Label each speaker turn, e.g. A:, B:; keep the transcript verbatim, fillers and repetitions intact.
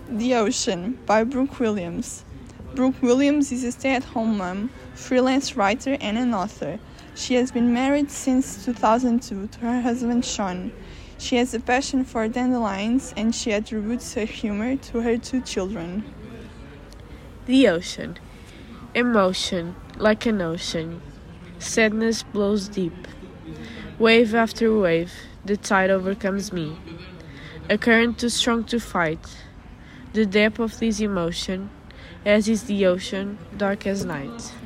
A: The Ocean by Brooke Williams. Brooke Williams is a stay-at-home mom, freelance writer, and an author. She has been married since two thousand two to her husband Sean. She has a passion for dandelions, and she attributes her humor to her two children.
B: The Ocean. Emotion, like an ocean. Sadness blows deep. Wave after wave, the tide overcomes me. A current too strong to fight. The depth of this emotion, as is the ocean, dark as night.